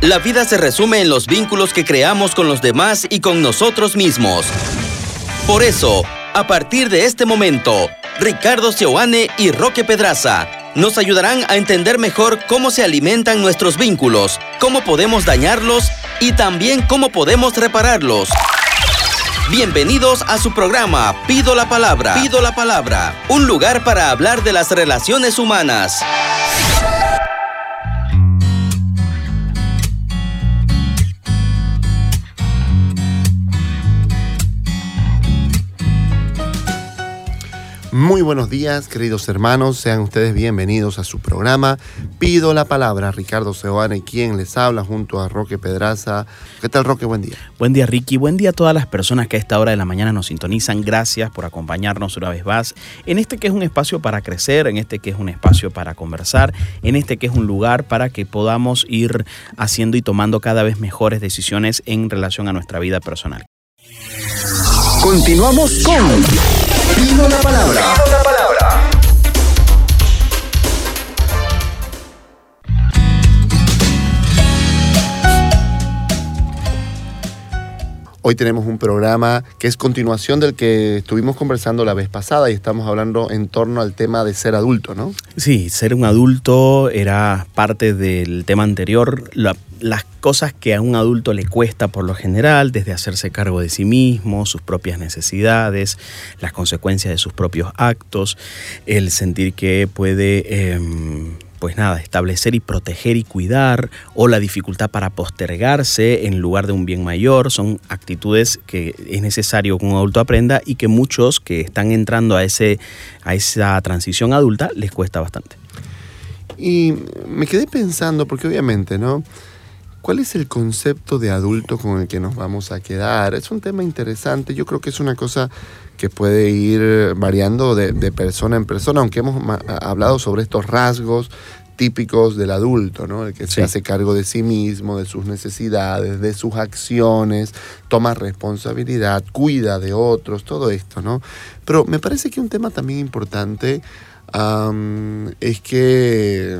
La vida se resume en los vínculos que creamos con los demás y con nosotros mismos. Por eso, a partir de este momento, Ricardo Seoane y Roque Pedraza nos ayudarán a entender mejor cómo se alimentan nuestros vínculos, cómo podemos dañarlos y también cómo podemos repararlos. Bienvenidos a su programa Pido la Palabra. Pido la Palabra, un lugar para hablar de las relaciones humanas. Muy buenos días, queridos hermanos, sean ustedes bienvenidos a su programa Pido la Palabra. Ricardo Seoane, quien les habla junto a Roque Pedraza. ¿Qué tal, Roque? Buen día. Buen día, Ricky. Buen día a todas las personas que a esta hora de la mañana nos sintonizan. Gracias por acompañarnos una vez más en este que es un espacio para crecer, en este que es un espacio para conversar, en este que es un lugar para que podamos ir haciendo y tomando cada vez mejores decisiones en relación a nuestra vida personal. Continuamos con Pido la Palabra. Pido la Palabra. Hoy tenemos un programa que es continuación del que estuvimos conversando la vez pasada y estamos hablando en torno al tema de ser adulto, ¿no? Sí, ser un adulto era parte del tema anterior. Las cosas que a un adulto le cuesta por lo general, desde hacerse cargo de sí mismo, sus propias necesidades, las consecuencias de sus propios actos, el sentir que puede establecer y proteger y cuidar, o la dificultad para postergarse en lugar de un bien mayor, son actitudes que es necesario que un adulto aprenda y que muchos que están entrando a esa transición adulta les cuesta bastante. Y me quedé pensando, porque obviamente, ¿no? ¿Cuál es el concepto de adulto con el que nos vamos a quedar? Es un tema interesante. Yo creo que es una cosa que puede ir variando de persona en persona, aunque hemos hablado sobre estos rasgos típicos del adulto, ¿no? El que se hace cargo de sí mismo, de sus necesidades, de sus acciones, toma responsabilidad, cuida de otros, todo esto, ¿no? Pero me parece que un tema también importante es que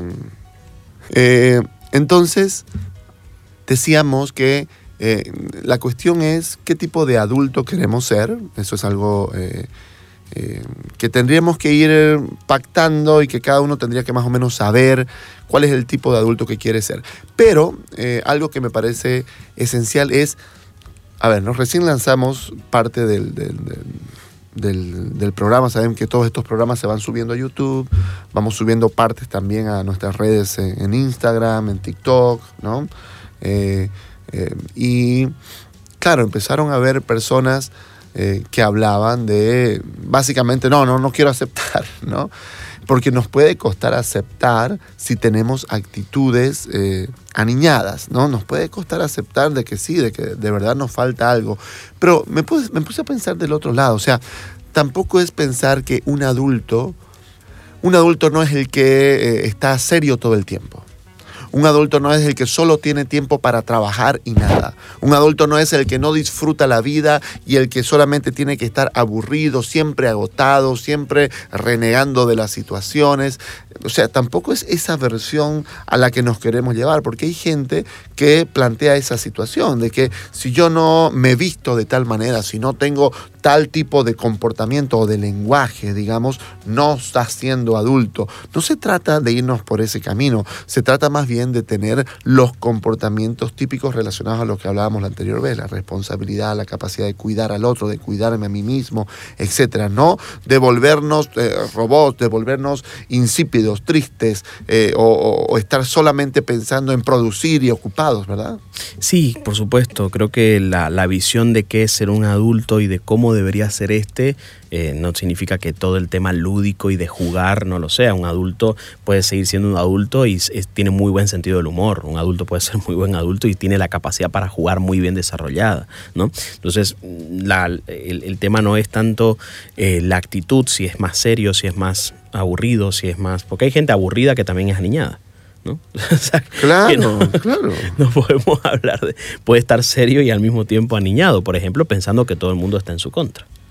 entonces decíamos que la cuestión es qué tipo de adulto queremos ser. Eso es algo que tendríamos que ir pactando y que cada uno tendría que más o menos saber cuál es el tipo de adulto que quiere ser. Pero algo que me parece esencial es, recién lanzamos parte del programa. Saben que todos estos programas se van subiendo a YouTube, vamos subiendo partes también a nuestras redes en Instagram, en TikTok, ¿no? Y claro, empezaron a haber personas que hablaban de, básicamente, no quiero aceptar, ¿no? Porque nos puede costar aceptar si tenemos actitudes aniñadas, ¿no? Nos puede costar aceptar de que sí, de que de verdad nos falta algo. Pero me puse a pensar del otro lado, o sea, tampoco es pensar que un adulto no es el que está serio todo el tiempo. Un adulto no es el que solo tiene tiempo para trabajar y nada. Un adulto no es el que no disfruta la vida y el que solamente tiene que estar aburrido, siempre agotado, siempre renegando de las situaciones. O sea, tampoco es esa versión a la que nos queremos llevar, porque hay gente que plantea esa situación de que si yo no me visto de tal manera, si no tengo tal tipo de comportamiento o de lenguaje, digamos, no estás siendo adulto. No se trata de irnos por ese camino, se trata más bien de tener los comportamientos típicos relacionados a lo que hablábamos la anterior vez, la responsabilidad, la capacidad de cuidar al otro, de cuidarme a mí mismo, etcétera. No de volvernos robots, de volvernos insípidos, tristes o estar solamente pensando en producir y ocupados, ¿verdad? Sí, por supuesto. Creo que la visión de qué es ser un adulto y de cómo debería ser no significa que todo el tema lúdico y de jugar no lo sea. Un adulto puede seguir siendo un adulto y tiene muy buen sentido del humor. Un adulto puede ser muy buen adulto y tiene la capacidad para jugar muy bien desarrollada, ¿no? Entonces, el tema no es tanto la actitud, si es más serio, si es más aburrido, si es más... Porque hay gente aburrida que también es aniñada, ¿no? O sea, claro. No podemos hablar de... Puede estar serio y al mismo tiempo aniñado, por ejemplo, pensando que todo el mundo está en su contra.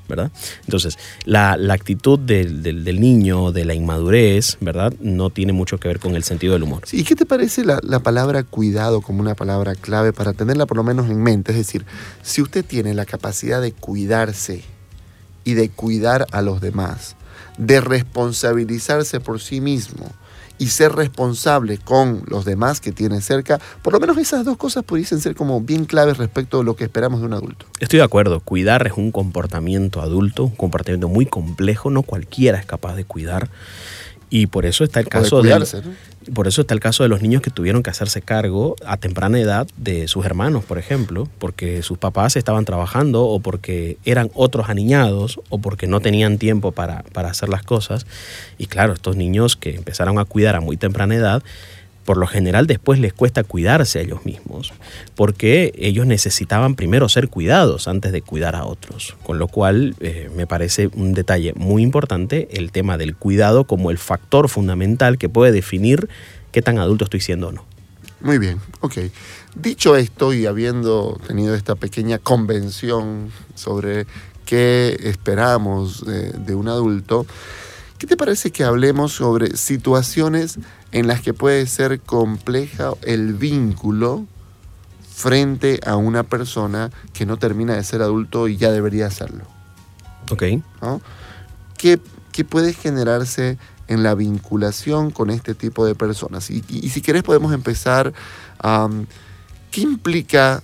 ¿verdad? Entonces, la actitud del niño, de la inmadurez, ¿verdad? No tiene mucho que ver con el sentido del humor. Sí, ¿y qué te parece la palabra cuidado como una palabra clave para tenerla por lo menos en mente? Es decir, si usted tiene la capacidad de cuidarse y de cuidar a los demás, de responsabilizarse por sí mismo y ser responsable con los demás que tiene cerca, por lo menos esas dos cosas pudiesen ser como bien claves respecto a lo que esperamos de un adulto. Estoy de acuerdo, cuidar es un comportamiento adulto, un comportamiento muy complejo, no cualquiera es capaz de cuidar. Y por eso está el caso por eso está el caso de los niños que tuvieron que hacerse cargo a temprana edad de sus hermanos, por ejemplo, porque sus papás estaban trabajando o porque eran otros aniñados o porque no tenían tiempo para hacer las cosas. Y claro, estos niños que empezaron a cuidar a muy temprana edad, por lo general después les cuesta cuidarse a ellos mismos, porque ellos necesitaban primero ser cuidados antes de cuidar a otros. Con lo cual me parece un detalle muy importante el tema del cuidado como el factor fundamental que puede definir qué tan adulto estoy siendo o no. Muy bien, ok. Dicho esto y habiendo tenido esta pequeña convención sobre qué esperamos de un adulto, ¿qué te parece que hablemos sobre situaciones en las que puede ser compleja el vínculo frente a una persona que no termina de ser adulto y ya debería serlo? Ok. ¿No? ¿Qué puede generarse en la vinculación con este tipo de personas? Y si querés podemos empezar. ¿Qué implica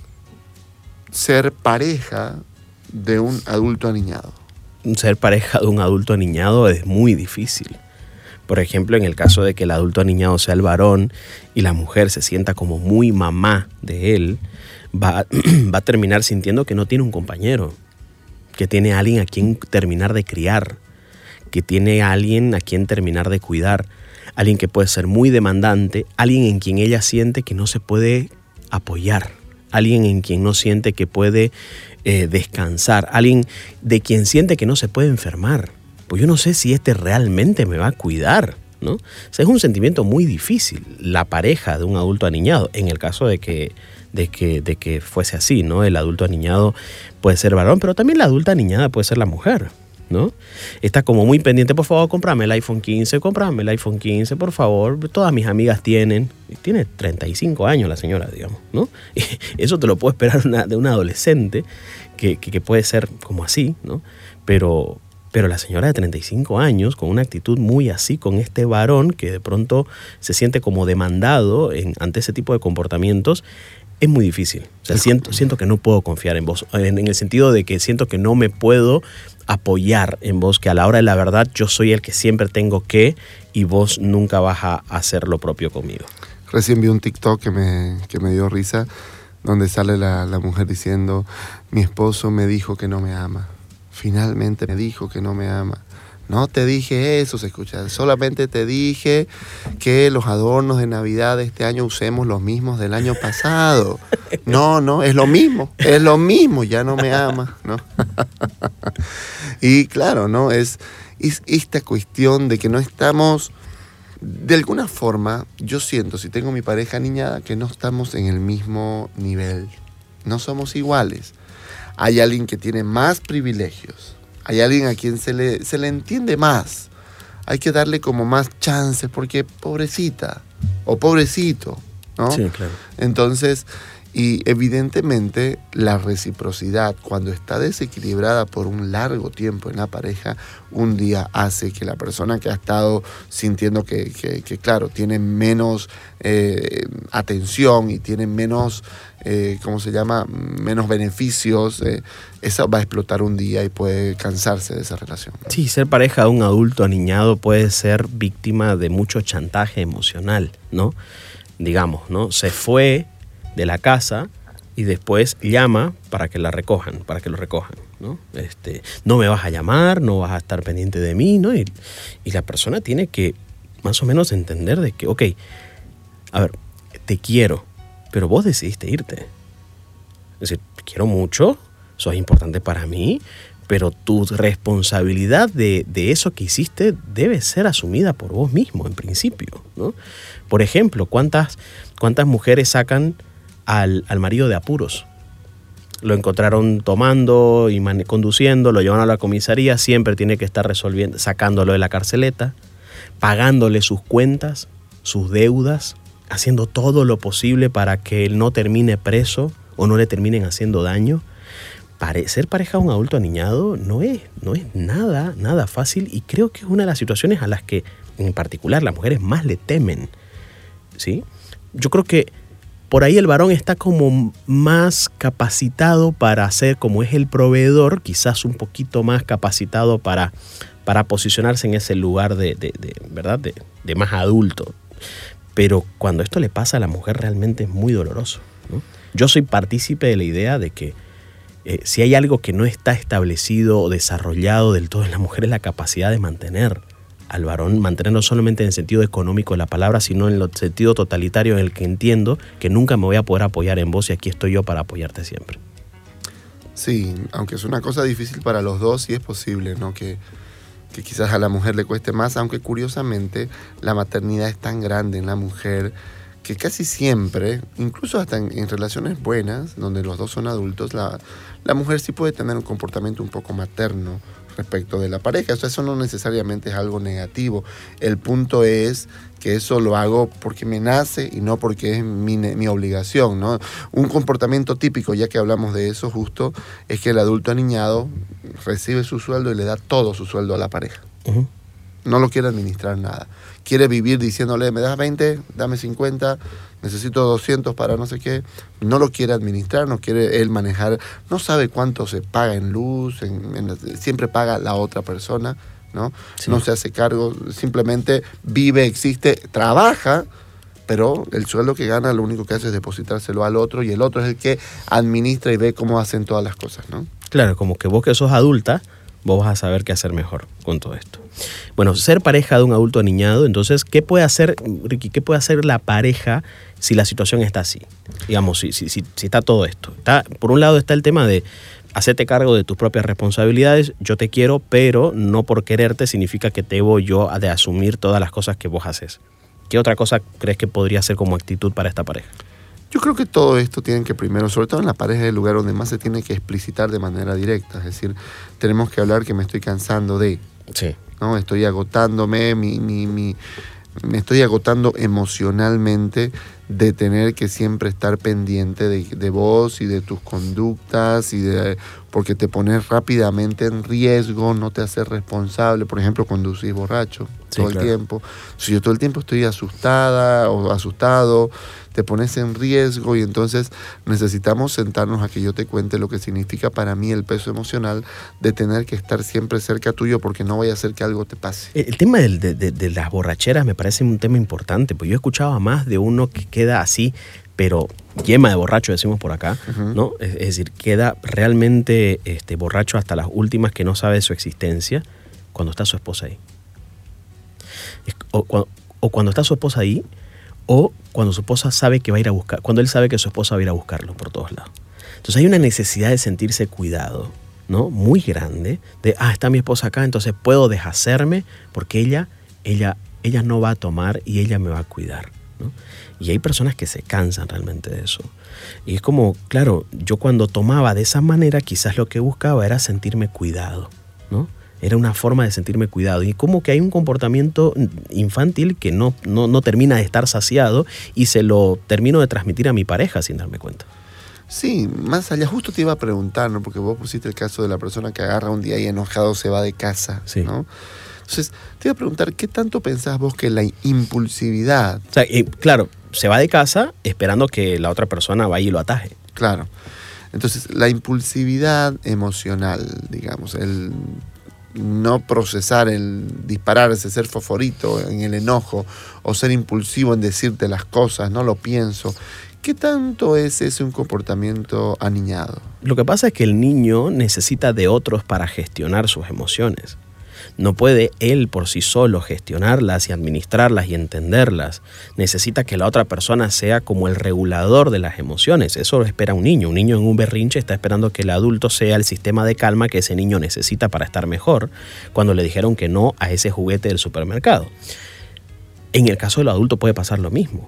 ser pareja de un adulto aniñado? Ser pareja de un adulto aniñado es muy difícil. Por ejemplo, en el caso de que el adulto aniñado sea el varón y la mujer se sienta como muy mamá de él, va a terminar sintiendo que no tiene un compañero, que tiene a alguien a quien terminar de criar, que tiene a alguien a quien terminar de cuidar, alguien que puede ser muy demandante, alguien en quien ella siente que no se puede apoyar, alguien en quien no siente que puede descansar, alguien de quien siente que no se puede enfermar. Pues yo no sé si este realmente me va a cuidar, ¿no? O sea, es un sentimiento muy difícil, la pareja de un adulto aniñado, en el caso de que fuese así, ¿no? El adulto aniñado puede ser varón, pero también la adulta aniñada puede ser la mujer, ¿no? Está como muy pendiente, por favor, cómprame el iPhone 15, por favor, todas mis amigas tiene 35 años la señora, digamos, ¿no? Y eso te lo puedo esperar de una adolescente que puede ser como así, ¿no? Pero la señora de 35 años, con una actitud muy así, con este varón que de pronto se siente como demandado ante ese tipo de comportamientos, es muy difícil. O sea, siento que no puedo confiar en vos, en el sentido de que siento que no me puedo apoyar en vos, que a la hora de la verdad yo soy el que siempre tengo que, y vos nunca vas a hacer lo propio conmigo. Recién vi un TikTok que me dio risa, donde sale la mujer diciendo: mi esposo me dijo que no me ama. Finalmente me dijo que no me ama. No te dije eso, se escucha. Solamente te dije que los adornos de Navidad de este año usemos los mismos del año pasado. No, es lo mismo, ya no me ama, ¿no? Y claro, ¿no? Es esta cuestión de que no estamos, de alguna forma, yo siento, si tengo mi pareja aniñada, que no estamos en el mismo nivel. No somos iguales. Hay alguien que tiene más privilegios. Hay alguien a quien se le entiende más. Hay que darle como más chances porque pobrecita o pobrecito, ¿no? Sí, claro. Entonces, y evidentemente la reciprocidad, cuando está desequilibrada por un largo tiempo en la pareja, un día hace que la persona que ha estado sintiendo que claro, tiene menos atención y tiene menos, menos beneficios, esa va a explotar un día y puede cansarse de esa relación, ¿no? Sí, ser pareja de un adulto aniñado puede ser víctima de mucho chantaje emocional, ¿no? Digamos, ¿no? Se fue de la casa y después llama para que lo recojan, ¿no? No me vas a llamar, no vas a estar pendiente de mí, ¿no? Y la persona tiene que más o menos entender de que, ok, a ver, te quiero, pero vos decidiste irte. Es decir, te quiero mucho, sos importante para mí, pero tu responsabilidad de eso que hiciste debe ser asumida por vos mismo, en principio, ¿no? Por ejemplo, ¿cuántas mujeres sacan al marido de apuros? lo encontraron tomando y conduciendo, lo llevaron a la comisaría, siempre tiene que estar resolviendo, sacándolo de la carceleta, pagándole sus cuentas, sus deudas, haciendo todo lo posible para que él no termine preso o no le terminen haciendo daño. Ser pareja de un adulto aniñado no es nada fácil, y creo que es una de las situaciones a las que en particular las mujeres más le temen, ¿sí? Yo creo que por ahí el varón está como más capacitado para ser, como es el proveedor, quizás un poquito más capacitado para posicionarse en ese lugar ¿verdad? de más adulto. Pero cuando esto le pasa a la mujer realmente es muy doloroso, ¿no? Yo soy partícipe de la idea de que si hay algo que no está establecido o desarrollado del todo en la mujer, es la capacidad de mantener al varón, mantenerlo solamente en el sentido económico de la palabra, sino en el sentido totalitario en el que entiendo que nunca me voy a poder apoyar en vos y aquí estoy yo para apoyarte siempre. Sí, aunque es una cosa difícil para los dos, sí es posible, ¿no? Que quizás a la mujer le cueste más, aunque curiosamente la maternidad es tan grande en la mujer que casi siempre, incluso hasta en relaciones buenas, donde los dos son adultos, la mujer sí puede tener un comportamiento un poco materno respecto de la pareja. O sea, eso no necesariamente es algo negativo. El punto es que eso lo hago porque me nace y no porque es mi obligación, ¿no? Un comportamiento típico, ya que hablamos de eso justo, es que el adulto aniñado recibe su sueldo y le da todo su sueldo a la pareja. Uh-huh. No lo quiere administrar nada. Quiere vivir diciéndole, me das 20, dame 50, necesito 200 para no sé qué. No lo quiere administrar, no quiere él manejar, no sabe cuánto se paga en luz, siempre paga la otra persona, ¿no? Sí. No se hace cargo, simplemente vive, existe, trabaja, pero el sueldo que gana lo único que hace es depositárselo al otro, y el otro es el que administra y ve cómo hacen todas las cosas, ¿no? Claro, como que vos que sos adulta, vos vas a saber qué hacer mejor con todo esto. Bueno, ser pareja de un adulto aniñado, entonces, ¿qué puede hacer, Ricky, qué puede hacer la pareja si la situación está así? Digamos, si está todo esto. Por un lado está el tema de hacerte cargo de tus propias responsabilidades. Yo te quiero, pero no por quererte significa que debo yo de asumir todas las cosas que vos haces. ¿Qué otra cosa crees que podría ser como actitud para esta pareja? Yo creo que todo esto tiene que primero, sobre todo en la pareja, es el lugar donde más se tiene que explicitar de manera directa. Es decir, tenemos que hablar que me estoy cansando de... Sí. ¿No? Estoy agotándome, me estoy agotando emocionalmente de tener que siempre estar pendiente de vos y de tus conductas, porque te pones rápidamente en riesgo, no te haces responsable. Por ejemplo, conducís borracho todo el tiempo. Si yo todo el tiempo estoy asustada o asustado, te pones en riesgo, y entonces necesitamos sentarnos a que yo te cuente lo que significa para mí el peso emocional de tener que estar siempre cerca tuyo, porque no vaya a ser que algo te pase. El tema de las borracheras me parece un tema importante, porque yo he escuchado a más de uno que queda así, pero yema de borracho, decimos por acá, uh-huh. ¿no? Es decir, queda realmente borracho hasta las últimas, que no sabe de su existencia cuando está su esposa ahí. O cuando está su esposa ahí, o cuando su esposa sabe que va a ir a buscar, cuando él sabe que su esposa va a ir a buscarlo por todos lados. Entonces hay una necesidad de sentirse cuidado, ¿no? Muy grande, de, está mi esposa acá, entonces puedo deshacerme porque ella no va a tomar y ella me va a cuidar, ¿no? Y hay personas que se cansan realmente de eso. Y es como, claro, yo cuando tomaba de esa manera, quizás lo que buscaba era sentirme cuidado, ¿no? Era una forma de sentirme cuidado. Y como que hay un comportamiento infantil que no termina de estar saciado, y se lo termino de transmitir a mi pareja sin darme cuenta. Sí, más allá, justo te iba a preguntar, ¿no? Porque vos pusiste el caso de la persona que agarra un día y enojado se va de casa, sí. ¿no? Entonces, te iba a preguntar, ¿qué tanto pensás vos que la impulsividad... O sea, claro, se va de casa esperando que la otra persona vaya y lo ataje. Claro. Entonces, la impulsividad emocional, digamos, el no procesar, el dispararse, ser fosforito en el enojo, o ser impulsivo en decirte las cosas, no lo pienso. ¿Qué tanto es ese un comportamiento aniñado? Lo que pasa es que el niño necesita de otros para gestionar sus emociones. No puede él por sí solo gestionarlas y administrarlas y entenderlas. Necesita que la otra persona sea como el regulador de las emociones. Eso lo espera un niño. Un niño en un berrinche está esperando que el adulto sea el sistema de calma que ese niño necesita para estar mejor, cuando le dijeron que no a ese juguete del supermercado. En el caso del adulto puede pasar lo mismo.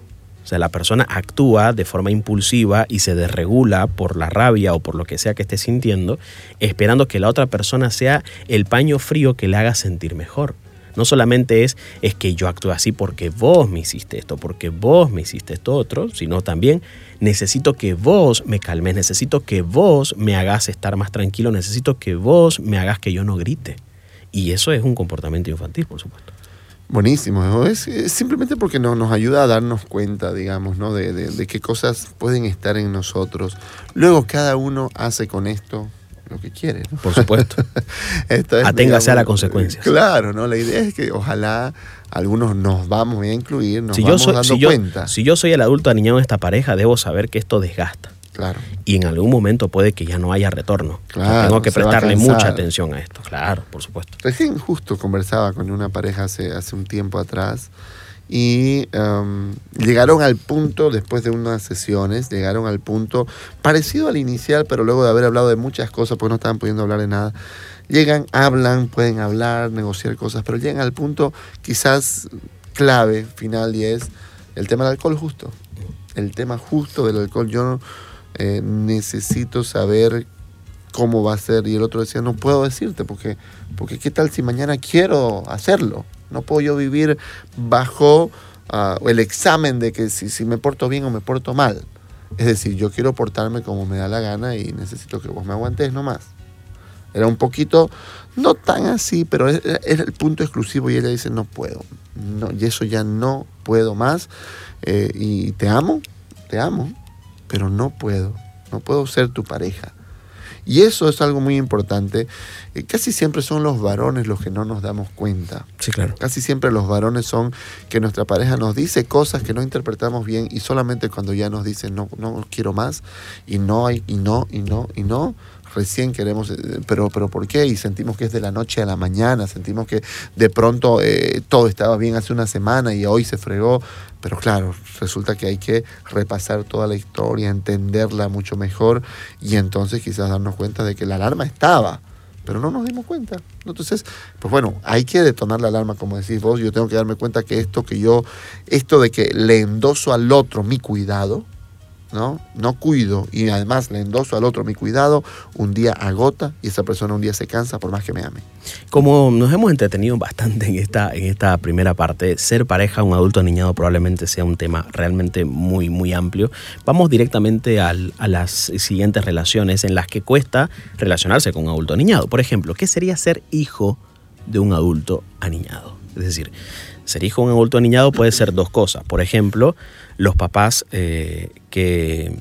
O sea, la persona actúa de forma impulsiva y se desregula por la rabia o por lo que sea que esté sintiendo, esperando que la otra persona sea el paño frío que le haga sentir mejor. No solamente es que yo actúe así porque vos me hiciste esto, porque vos me hiciste esto otro, sino también necesito que vos me calmes, necesito que vos me hagas estar más tranquilo, necesito que vos me hagas que yo no grite. Y eso es un comportamiento infantil, por supuesto. Buenísimo, es simplemente porque nos ayuda a darnos cuenta, digamos, ¿no? de qué cosas pueden estar en nosotros. Luego cada uno hace con esto lo que quiere, ¿no? Por supuesto. Aténgase, digamos, a las consecuencias. Claro, ¿no? La idea es que ojalá algunos nos vamos a incluir, nos vamos dando cuenta. Si yo soy el adulto aniñado en esta pareja, debo saber que esto desgasta. Claro. Y en algún momento puede que ya no haya retorno. Claro, tengo que prestarle mucha atención a esto. Claro, por supuesto. Recién justo conversaba con una pareja hace un tiempo atrás y llegaron al punto, después de unas sesiones, llegaron al punto parecido al inicial, pero luego de haber hablado de muchas cosas, pues no estaban pudiendo hablar de nada. Llegan, hablan, pueden hablar, negociar cosas, pero llegan al punto quizás clave, final, y es el tema del alcohol justo. El tema justo del alcohol. Yo necesito saber cómo va a ser. Y el otro decía, no puedo decirte, porque ¿qué tal si mañana quiero hacerlo? No puedo yo vivir bajo el examen de que si me porto bien o me porto mal. Es decir, yo quiero portarme como me da la gana y necesito que vos me aguantes nomás. Era un poquito, no tan así, pero era el punto exclusivo y ella dice, no puedo. No, y eso ya no puedo más. Y te amo, pero no puedo ser tu pareja. Y eso es algo muy importante. Casi siempre son los varones los que no nos damos cuenta. Sí, claro. Casi siempre los varones son que nuestra pareja nos dice cosas que no interpretamos bien y solamente cuando ya nos dice no quiero más y no, recién queremos, pero ¿por qué? Y sentimos que es de la noche a la mañana, sentimos que de pronto todo estaba bien hace una semana y hoy se fregó. Pero claro, resulta que hay que repasar toda la historia, entenderla mucho mejor y entonces quizás darnos cuenta de que la alarma estaba, pero no nos dimos cuenta. Entonces, pues bueno, hay que detonar la alarma, como decís vos. Yo tengo que darme cuenta que esto de que le endoso al otro mi cuidado, no cuido y además le endoso al otro mi cuidado, un día agota y esa persona un día se cansa por más que me ame. Como nos hemos entretenido bastante en esta primera parte, ser pareja, un adulto aniñado probablemente sea un tema realmente muy, muy amplio. Vamos directamente a las siguientes relaciones en las que cuesta relacionarse con un adulto aniñado. Por ejemplo, ¿qué sería ser hijo de un adulto aniñado? Es decir, ser hijo de un adulto aniñado puede ser dos cosas. Por ejemplo, los papás que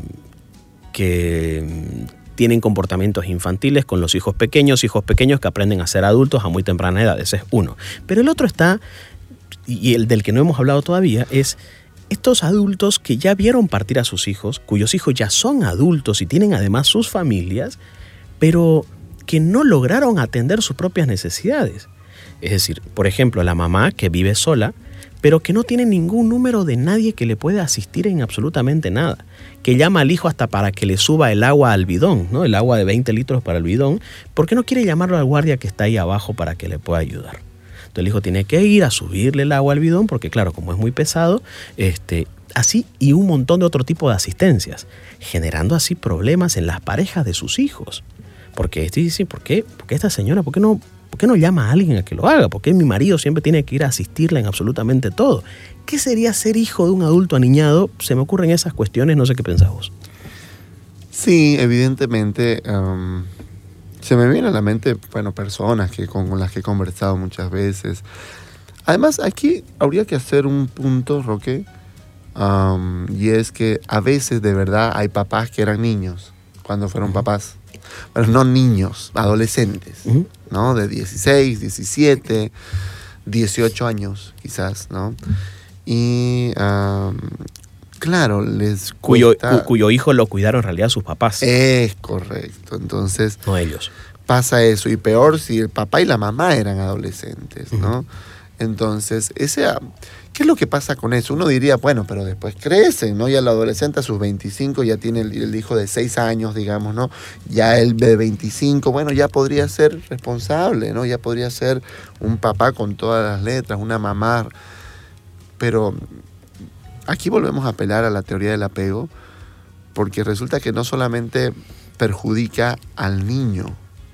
tienen comportamientos infantiles con los hijos pequeños que aprenden a ser adultos a muy temprana edad. Ese es uno. Pero el otro está, y el del que no hemos hablado todavía, es estos adultos que ya vieron partir a sus hijos, cuyos hijos ya son adultos y tienen además sus familias, pero que no lograron atender sus propias necesidades. Es decir, por ejemplo, la mamá que vive sola, pero que no tiene ningún número de nadie que le pueda asistir en absolutamente nada, que llama al hijo hasta para que le suba el agua al bidón, ¿no? El agua de 20 litros para el bidón, porque no quiere llamarlo al guardia que está ahí abajo para que le pueda ayudar. Entonces el hijo tiene que ir a subirle el agua al bidón, porque claro, como es muy pesado, así y un montón de otro tipo de asistencias, generando así problemas en las parejas de sus hijos. Porque dice, ¿por qué esta señora, por qué no llama a alguien a que lo haga? ¿Por qué mi marido siempre tiene que ir a asistirla en absolutamente todo? ¿Qué sería ser hijo de un adulto aniñado? Se me ocurren esas cuestiones, no sé qué pensás vos. Sí, evidentemente se me viene a la mente, personas con las que he conversado muchas veces. Además, aquí habría que hacer un punto, Roque, y es que a veces de verdad hay papás que eran niños cuando fueron papás. Bueno, no niños, adolescentes, ¿no? De 16, 17, 18 años quizás, ¿no? Y claro, les cuesta... Cuyo hijo lo cuidaron en realidad sus papás. Es correcto, entonces... No ellos. Pasa eso, y peor si el papá y la mamá eran adolescentes, ¿no? Entonces, ¿qué es lo que pasa con eso? Uno diría, bueno, pero después crecen, ¿no? Ya el adolescente a sus 25 ya tiene el hijo de 6 años, digamos, ¿no? Ya el de 25, bueno, ya podría ser responsable, ¿no? Ya podría ser un papá con todas las letras, una mamá. Pero aquí volvemos a apelar a la teoría del apego, porque resulta que no solamente perjudica al niño,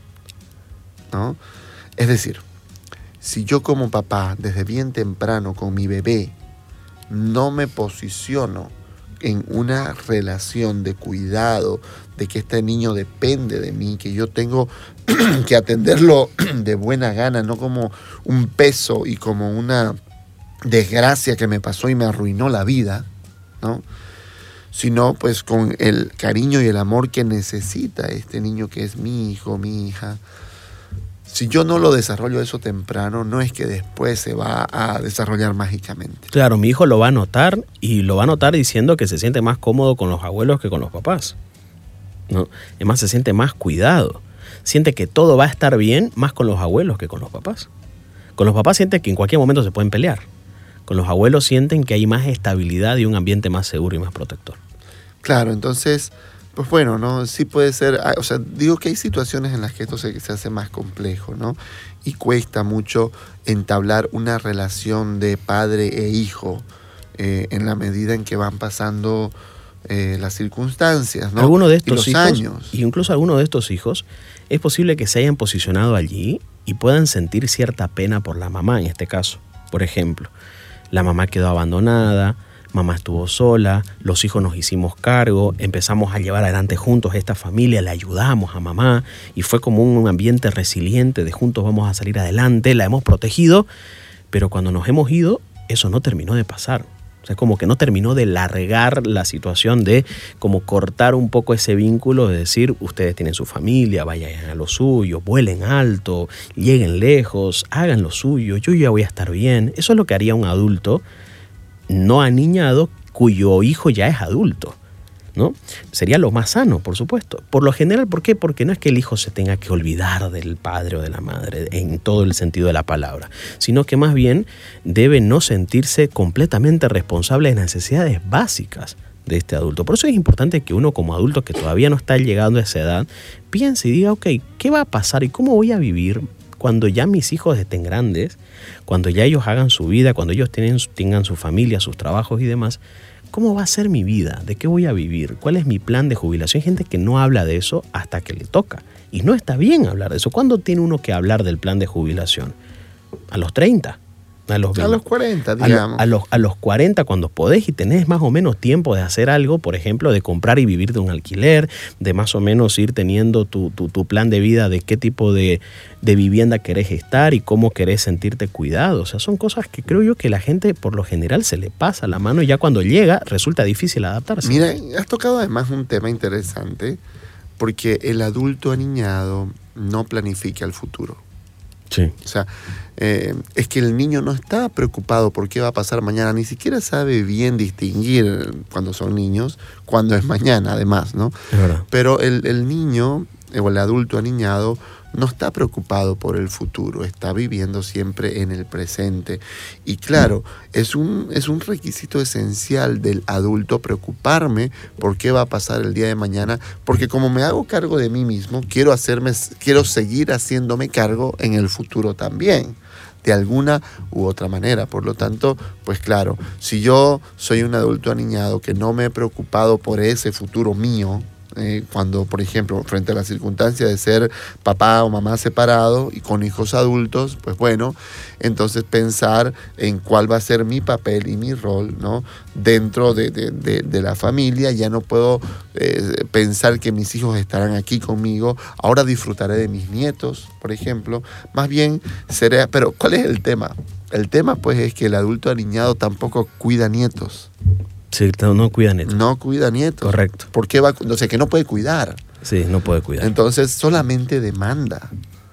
¿no? Es decir, si yo como papá, desde bien temprano con mi bebé, no me posiciono en una relación de cuidado, de que este niño depende de mí, que yo tengo que atenderlo de buena gana, no como un peso y como una desgracia que me pasó y me arruinó la vida, ¿no? Sino pues con el cariño y el amor que necesita este niño que es mi hijo, mi hija. Si yo no lo desarrollo eso temprano, no es que después se va a desarrollar mágicamente. Claro, mi hijo lo va a notar y lo va a notar diciendo que se siente más cómodo con los abuelos que con los papás, ¿no? Además se siente más cuidado. Siente que todo va a estar bien más con los abuelos que con los papás. Con los papás siente que en cualquier momento se pueden pelear. Con los abuelos sienten que hay más estabilidad y un ambiente más seguro y más protector. Claro, entonces, pues bueno, ¿no? Sí puede ser, o sea, digo que hay situaciones en las que esto se hace más complejo, ¿no? Y cuesta mucho entablar una relación de padre e hijo en la medida en que van pasando las circunstancias, ¿no? Algunos de estos y los hijos, años. y incluso algunos de estos hijos, es posible que se hayan posicionado allí y puedan sentir cierta pena por la mamá en este caso. Por ejemplo, la mamá quedó abandonada, mamá estuvo sola, los hijos nos hicimos cargo, empezamos a llevar adelante juntos esta familia, le ayudamos a mamá y fue como un ambiente resiliente de juntos vamos a salir adelante, la hemos protegido, pero cuando nos hemos ido, eso no terminó de pasar. O sea, como que no terminó de largar la situación de como cortar un poco ese vínculo de decir, ustedes tienen su familia, vayan a lo suyo, vuelen alto, lleguen lejos, hagan lo suyo, yo ya voy a estar bien. Eso es lo que haría un adulto no aniñado cuyo hijo ya es adulto, ¿no? Sería lo más sano, por supuesto. Por lo general, ¿por qué? Porque no es que el hijo se tenga que olvidar del padre o de la madre en todo el sentido de la palabra, sino que más bien debe no sentirse completamente responsable de las necesidades básicas de este adulto. Por eso es importante que uno como adulto que todavía no está llegando a esa edad piense y diga, ok, ¿qué va a pasar y cómo voy a vivir cuando ya mis hijos estén grandes, cuando ya ellos hagan su vida, cuando ellos tengan su familia, sus trabajos y demás? ¿Cómo va a ser mi vida? ¿De qué voy a vivir? ¿Cuál es mi plan de jubilación? Hay gente que no habla de eso hasta que le toca. Y no está bien hablar de eso. ¿Cuándo tiene uno que hablar del plan de jubilación? ¿A los 30? A los 40, digamos. A los 40, cuando podés y tenés más o menos tiempo de hacer algo, por ejemplo, de comprar y vivir de un alquiler, de más o menos ir teniendo tu plan de vida de qué tipo de vivienda querés estar y cómo querés sentirte cuidado. O sea, son cosas que creo yo que la gente por lo general se le pasa la mano y ya cuando llega resulta difícil adaptarse. Mira, has tocado además un tema interesante porque el adulto aniñado no planifica el futuro. Sí. O sea, es que el niño no está preocupado por qué va a pasar mañana, ni siquiera sabe bien distinguir cuando son niños, cuando es mañana además, ¿no? Es verdad. Pero el niño o el adulto aniñado no está preocupado por el futuro, está viviendo siempre en el presente. Y claro, es un requisito esencial del adulto preocuparme por qué va a pasar el día de mañana, porque como me hago cargo de mí mismo, quiero seguir haciéndome cargo en el futuro también, de alguna u otra manera. Por lo tanto, pues claro, si yo soy un adulto aniñado que no me he preocupado por ese futuro mío, cuando, por ejemplo, frente a la circunstancia de ser papá o mamá separado y con hijos adultos, pues bueno, entonces pensar en cuál va a ser mi papel y mi rol, ¿no? Dentro de la familia. Ya no puedo pensar que mis hijos estarán aquí conmigo, ahora disfrutaré de mis nietos, por ejemplo. Más bien seré, pero ¿cuál es el tema? El tema pues es que el adulto aniñado tampoco cuida nietos. Sí, no cuida nietos. No cuida nietos. Correcto. ¿Por qué va? O sea, que no puede cuidar. Sí, no puede cuidar. Entonces solamente demanda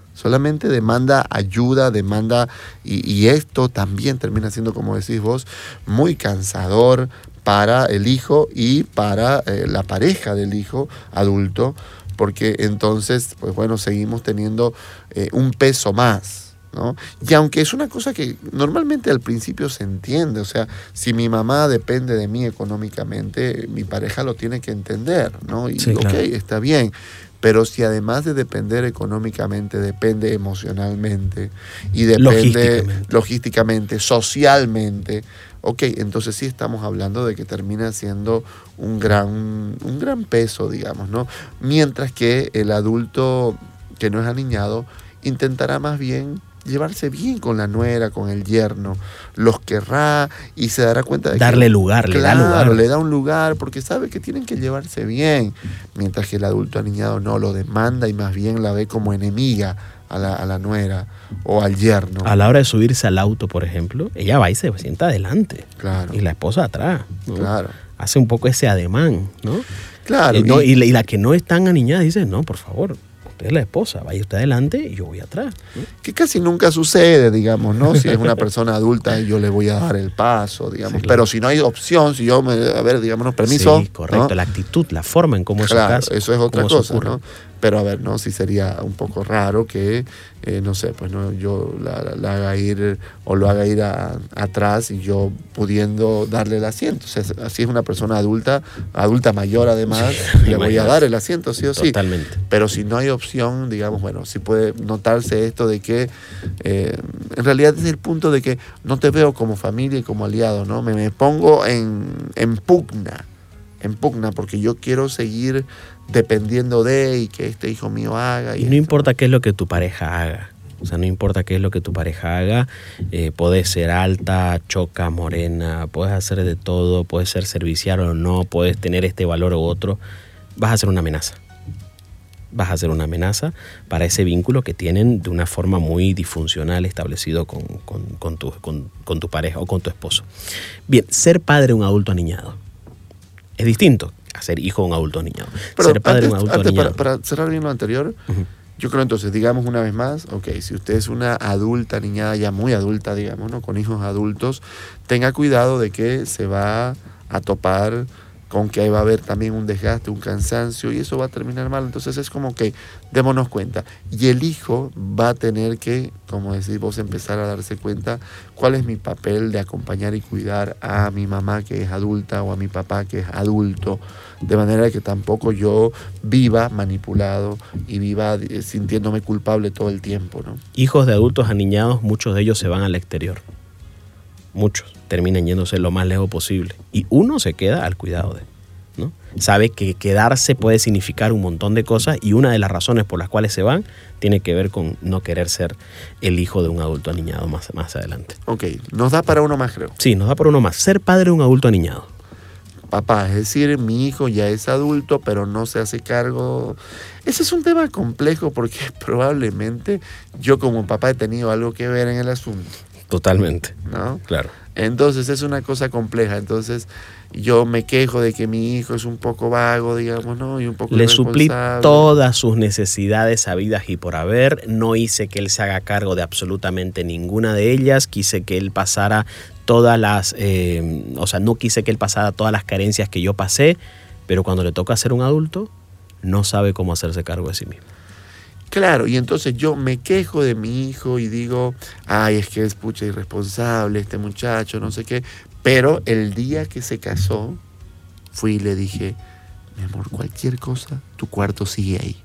ayuda, demanda, y esto también termina siendo, como decís vos, muy cansador para el hijo y para la pareja del hijo adulto, porque entonces, pues bueno, seguimos teniendo un peso más, ¿no? Y aunque es una cosa que normalmente al principio se entiende, o sea, si mi mamá depende de mí económicamente, mi pareja lo tiene que entender, ¿no? Y sí, claro. Ok, está bien. Pero si además de depender económicamente, depende emocionalmente y depende logísticamente, socialmente, Ok, entonces sí estamos hablando de que termina siendo un gran peso, digamos, ¿no? Mientras que el adulto que no es aniñado intentará más bien llevarse bien con la nuera, con el yerno, los querrá y se dará cuenta de darle que, lugar, claro, le da lugar. le da un lugar porque sabe que tienen que llevarse bien, mientras que el adulto aniñado no lo demanda y más bien la ve como enemiga a la nuera o al yerno. A la hora de subirse al auto, por ejemplo, ella va y se sienta adelante, Claro. y la esposa atrás, ¿no? Claro. Hace un poco ese ademán, ¿no? Claro. Y la que no es tan aniñada dice, no, por favor, usted es la esposa, vaya usted adelante y yo voy atrás, ¿no? Que casi nunca sucede, digamos, ¿no? Si es una persona adulta, yo le voy a dar el paso, digamos. Sí, claro. Pero si no hay opción, si yo a ver, digamos, permiso. Sí, correcto, ¿no? La actitud, la forma en cómo Claro, eso eso es otra cómo cosa, ocurre. ¿no? Pero a ver, ¿no? Sí sería un poco raro que, no sé, pues no, yo la haga ir o lo haga ir atrás y yo pudiendo darle el asiento. O sea, así es una persona adulta mayor además, Sí, le voy a imagínate. dar el asiento, sí o sí. Totalmente. Pero si no hay opción, digamos, bueno, sí puede notarse esto de que en realidad desde el punto de que no te veo como familia y como aliado, ¿no? Me pongo en pugna porque yo quiero seguir dependiendo de y que este hijo mío haga. Y no importa qué es lo que tu pareja haga. O sea, no importa qué es lo que tu pareja haga, puede ser alta, choca, morena, puedes hacer de todo, puedes ser servicial o no, puedes tener este valor u otro, vas a ser una amenaza. Vas a ser una amenaza para ese vínculo que tienen de una forma muy disfuncional establecido con tu pareja o con tu esposo. Bien, ser padre de un adulto aniñado es distinto a ser hijo de un adulto aniñado. Pero Ser padre de un antes, adulto aniñado. para cerrar bien lo anterior, Uh-huh. yo creo entonces, digamos una vez más, ok, si usted es una adulta, niñada ya muy adulta, digamos, ¿no? Con hijos adultos, tenga cuidado de que se va a topar con que va a haber también un desgaste, un cansancio, y eso va a terminar mal. Entonces es como que démonos cuenta. Y el hijo va a tener que, como decís vos, empezar a darse cuenta cuál es mi papel de acompañar y cuidar a mi mamá que es adulta o a mi papá que es adulto, de manera que tampoco yo viva manipulado y viva sintiéndome culpable todo el tiempo, ¿no? Hijos de adultos aniñados, muchos de ellos se van al exterior. Muchos terminan yéndose lo más lejos posible. Y uno se queda al cuidado de, ¿no? Sabe que quedarse puede significar un montón de cosas y una de las razones por las cuales se van tiene que ver con no querer ser el hijo de un adulto aniñado más adelante. Ok, nos da para uno más, creo. Sí, nos da por uno más. Ser padre de un adulto aniñado. Papá, es decir, mi hijo ya es adulto, pero no se hace cargo. Ese es un tema complejo porque probablemente yo como papá he tenido algo que ver en el asunto, Totalmente. ¿no? Claro. Entonces es una cosa compleja. Entonces yo me quejo de que mi hijo es un poco vago, digamos, ¿no? Y un poco Le suplí irresponsable. todas sus necesidades habidas y por haber. No hice que él se haga cargo de absolutamente ninguna de ellas. Quise que él pasara todas las... no quise que él pasara todas las carencias que yo pasé, pero cuando le toca ser un adulto, no sabe cómo hacerse cargo de sí mismo. Claro, y entonces yo me quejo de mi hijo y digo, ay, es que es pucha irresponsable este muchacho, no sé qué. Pero el día que se casó, fui y le dije, mi amor, cualquier cosa, tu cuarto sigue ahí.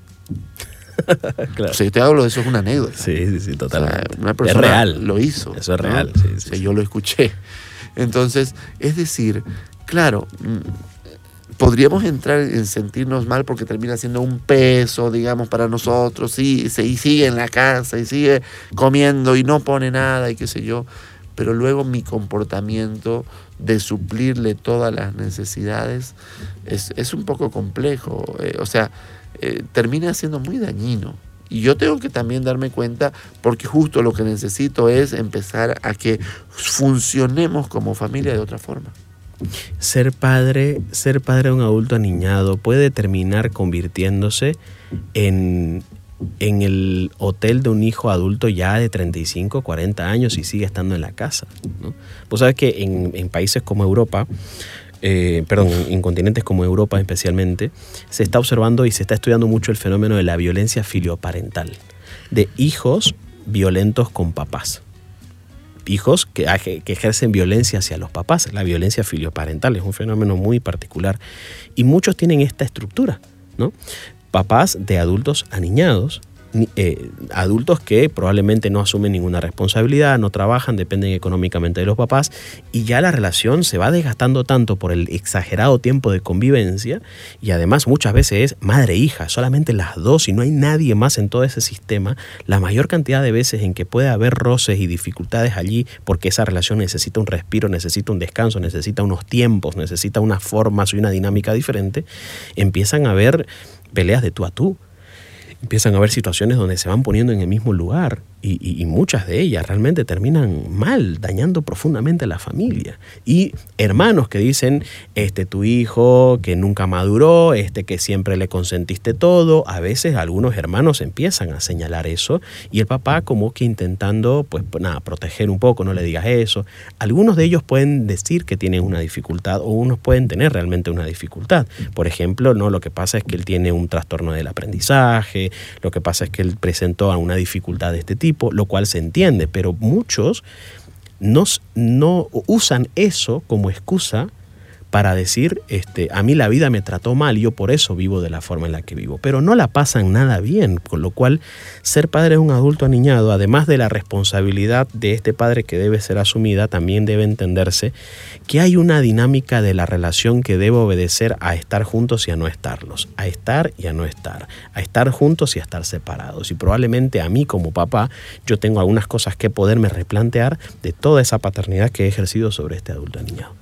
Claro. O sea, yo te hablo de eso, es una anécdota. Sí, totalmente. O sea, una persona es real. lo hizo. Eso es ¿no? real, sí. O sea, yo lo escuché. Entonces, es decir, claro, podríamos entrar en sentirnos mal porque termina siendo un peso, digamos, para nosotros, y sigue en la casa y sigue comiendo y no pone nada y qué sé yo, pero luego mi comportamiento de suplirle todas las necesidades es un poco complejo, termina siendo muy dañino. Y yo tengo que también darme cuenta porque justo lo que necesito es empezar a que funcionemos como familia de otra forma. Ser padre de un adulto aniñado puede terminar convirtiéndose en el hotel de un hijo adulto ya de 35, 40 años y sigue estando en la casa, ¿no? Vos sabés que en países como Europa, en continentes como Europa especialmente, se está observando y se está estudiando mucho el fenómeno de la violencia filioparental, de hijos violentos con papás. Hijos que ejercen violencia hacia los papás. La violencia filioparental es un fenómeno muy particular y muchos tienen esta estructura, ¿no? Papás de adultos aniñados adultos que probablemente no asumen ninguna responsabilidad, no trabajan, dependen económicamente de los papás, y ya la relación se va desgastando tanto por el exagerado tiempo de convivencia, y además muchas veces es madre e hija, solamente las dos y no hay nadie más en todo ese sistema. La mayor cantidad de veces en que puede haber roces y dificultades allí porque esa relación necesita un respiro, necesita un descanso, necesita unos tiempos, necesita unas formas y una dinámica diferente, empiezan a haber peleas de tú a tú. Empiezan a haber situaciones donde se van poniendo en el mismo lugar y muchas de ellas realmente terminan mal, dañando profundamente a la familia. Y hermanos que dicen, tu hijo que nunca maduró, que siempre le consentiste todo. A veces algunos hermanos empiezan a señalar eso y el papá como que intentando, proteger un poco, no le digas eso. Algunos de ellos pueden decir que tienen una dificultad o unos pueden tener realmente una dificultad. Por ejemplo, no, lo que pasa es que él tiene un trastorno del aprendizaje, lo que pasa es que él presentó una dificultad de este tipo, lo cual se entiende, pero muchos no usan eso como excusa para decir, a mí la vida me trató mal y yo por eso vivo de la forma en la que vivo. Pero no la pasan nada bien, con lo cual ser padre de un adulto aniñado, además de la responsabilidad de este padre que debe ser asumida, también debe entenderse que hay una dinámica de la relación que debe obedecer a estar juntos y a no estarlos, a estar y a no estar, a estar juntos y a estar separados. Y probablemente a mí como papá, yo tengo algunas cosas que poderme replantear de toda esa paternidad que he ejercido sobre este adulto aniñado.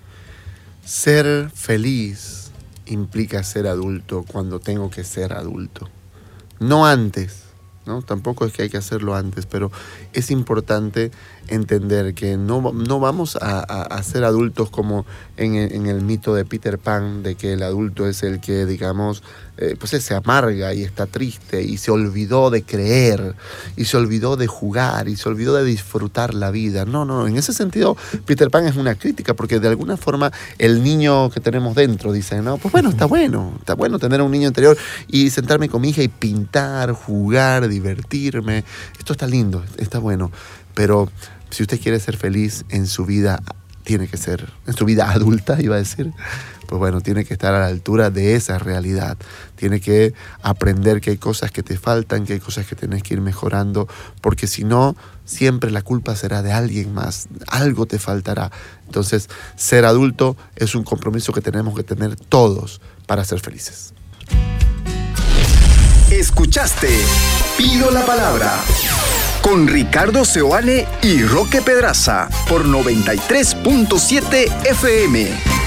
Ser feliz implica ser adulto cuando tengo que ser adulto. No antes, ¿no? Tampoco es que hay que hacerlo antes, pero es importante entender que no vamos a ser adultos como en el mito de Peter Pan, de que el adulto es el que, digamos, pues se amarga y está triste y se olvidó de creer y se olvidó de jugar y se olvidó de disfrutar la vida. No, en ese sentido Peter Pan es una crítica, porque de alguna forma el niño que tenemos dentro dice, no, pues bueno, está bueno tener un niño interior y sentarme con mi hija y pintar, jugar, divertirme. Esto está lindo, está bueno, pero si usted quiere ser feliz en su vida, tiene que ser, en su vida adulta, iba a decir, pues bueno, tiene que estar a la altura de esa realidad. Tiene que aprender que hay cosas que te faltan, que hay cosas que tienes que ir mejorando, porque si no, siempre la culpa será de alguien más, algo te faltará. Entonces, ser adulto es un compromiso que tenemos que tener todos para ser felices. Escuchaste Pido la Palabra con Ricardo Seoane y Roque Pedraza por 93.7 FM.